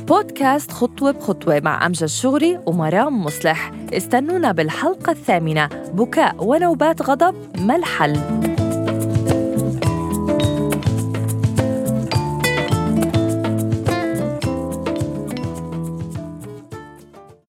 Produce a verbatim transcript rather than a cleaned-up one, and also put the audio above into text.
بودكاست خطوة بخطوة مع أمجد شغري ومرام مصلح. استنونا بالحلقة الثامنة. بكاء ونوبات غضب ما الحل؟